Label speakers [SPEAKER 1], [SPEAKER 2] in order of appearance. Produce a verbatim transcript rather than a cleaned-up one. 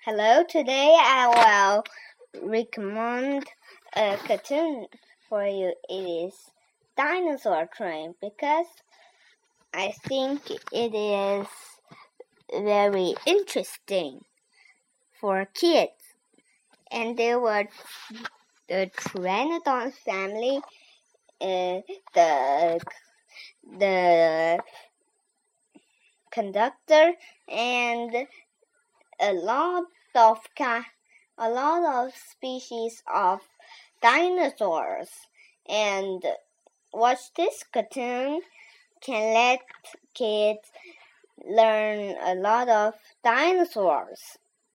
[SPEAKER 1] Hello, today I will recommend a cartoon for you. It is Dinosaur Train because I think it is very interesting for kids. And there were the Pteranodon family, uh, the the conductor, and a lot of a lot of species of dinosaurs. And watch this cartoon can let kids learn a lot of dinosaurs.